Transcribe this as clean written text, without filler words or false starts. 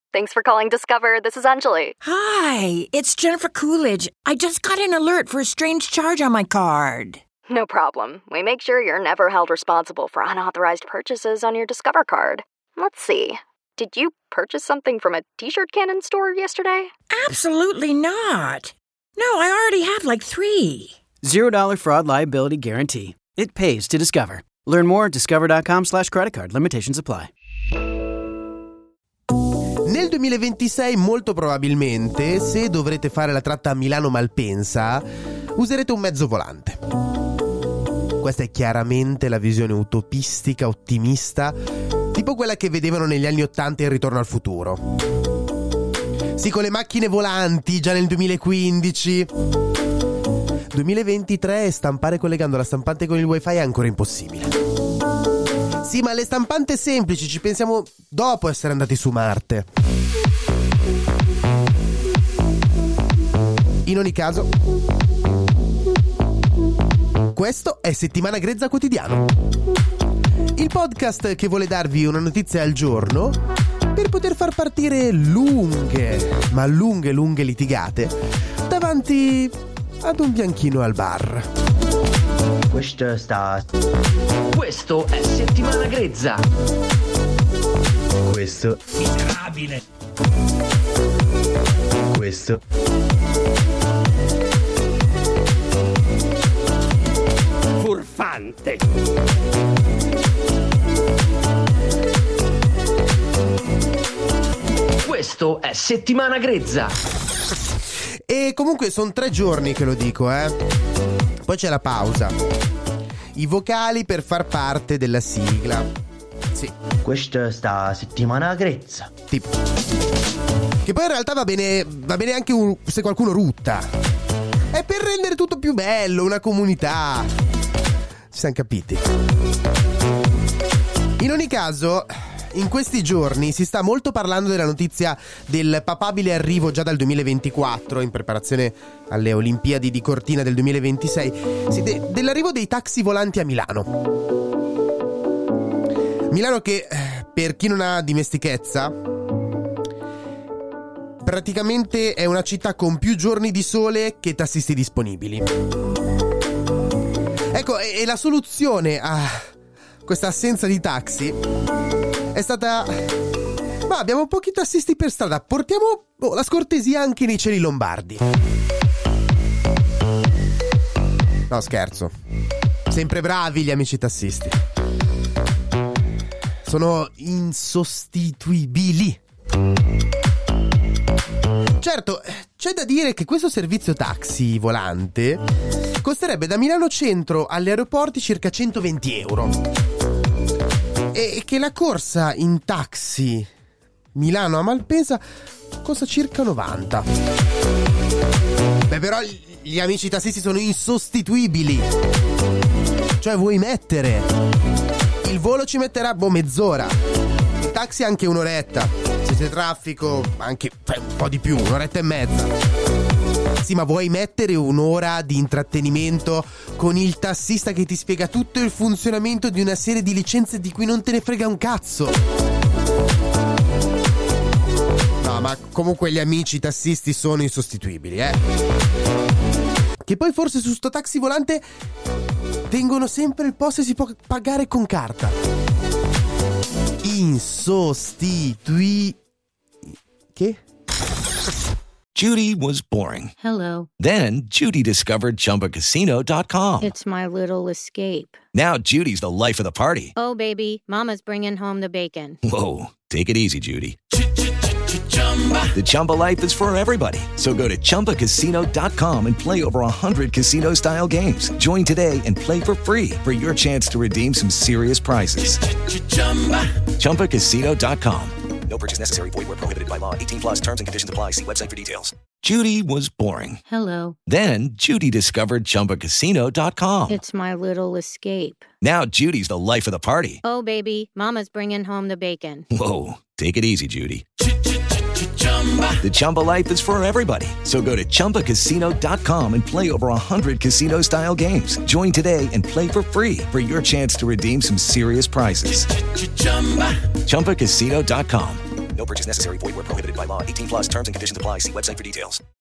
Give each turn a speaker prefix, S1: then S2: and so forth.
S1: Thanks for calling Discover. This is Anjali.
S2: Hi, it's Jennifer Coolidge. I just got an alert for a strange charge on my card.
S1: No problem. We make sure you're never held responsible for unauthorized purchases on your Discover card. Let's see. Did you purchase something from a t-shirt cannon store yesterday?
S2: Absolutely not. No, I already have like 3.
S3: $0 fraud liability guarantee. It pays to Discover. Learn more at discover.com/creditcard. Limitations apply.
S4: Nel 2026 molto probabilmente, se dovrete fare la tratta a Milano-Malpensa, userete un mezzo volante. Questa è chiaramente la visione utopistica, ottimista, tipo quella che vedevano negli anni '80 in Ritorno al futuro. Sì, con le macchine volanti già nel 2015. 2023 e stampare collegando la stampante con il wifi è ancora impossibile. Sì, ma alle stampanti semplici ci pensiamo dopo essere andati su Marte. In ogni caso, questo è Settimana Grezza Quotidiano, il podcast che vuole darvi una notizia al giorno per poter far partire lunghe litigate davanti ad un bianchino al bar.
S5: Questo è Settimana Grezza.
S6: Questo
S5: miserabile.
S6: Questo
S5: furfante. Questo è Settimana Grezza.
S4: E comunque sono 3 giorni che lo dico, Poi c'è la pausa. I vocali per far parte della sigla. Sì.
S6: Questa sta Settimana Grezza.
S4: Tipo. Che poi in realtà va bene anche se qualcuno rutta. È per rendere tutto più bello, una comunità. Ci siamo capiti. In ogni caso, in questi giorni si sta molto parlando della notizia del papabile arrivo già dal 2024, in preparazione alle Olimpiadi di Cortina del 2026, dell'arrivo dei taxi volanti a Milano. Milano che, per chi non ha dimestichezza, praticamente è una città con più giorni di sole che tassisti disponibili. Ecco, e la soluzione a questa assenza di taxi è stata: ma abbiamo pochi tassisti per strada, portiamo la scortesia anche nei cieli lombardi. No, scherzo. Sempre bravi gli amici tassisti. Sono insostituibili. Certo, c'è da dire che questo servizio taxi volante costerebbe da Milano Centro agli aeroporti circa 120 euro. E che la corsa in taxi Milano a Malpensa costa circa 90. Beh, però gli amici tassisti sono insostituibili. Cioè, vuoi mettere il volo ci metterà mezz'ora, il taxi anche un'oretta, se c'è traffico anche un po' di più, un'oretta e mezza. Sì, ma vuoi mettere un'ora di intrattenimento con il tassista che ti spiega tutto il funzionamento di una serie di licenze di cui non te ne frega un cazzo? No, ma comunque gli amici tassisti sono insostituibili, Che poi forse su sto taxi volante tengono sempre il posto e si può pagare con carta. Che?
S7: Judy was boring.
S8: Hello.
S7: Then Judy discovered ChumbaCasino.com.
S8: It's my little escape.
S7: Now Judy's the life of the party.
S8: Oh, baby, mama's bringing home the bacon.
S7: Whoa, take it easy, Judy. The Chumba life is for everybody. So go to ChumbaCasino.com and play over 100 casino-style games. Join today and play for free for your chance to redeem some serious prizes. ChumbaCasino.com. No purchase necessary. Void where prohibited by law. 18 plus terms and conditions apply. See website for details. Judy was boring.
S8: Hello.
S7: Then Judy discovered ChumbaCasino.com.
S8: It's my little escape.
S7: Now Judy's the life of the party.
S8: Oh, baby, mama's bringing home the bacon.
S7: Whoa, take it easy, Judy. The Chumba life is for everybody. So go to ChumbaCasino.com and play over 100 casino-style games. Join today and play for free for your chance to redeem some serious prizes. ChumbaCasino.com. No purchase necessary. Void where prohibited by law. 18 plus terms and conditions apply. See website for details.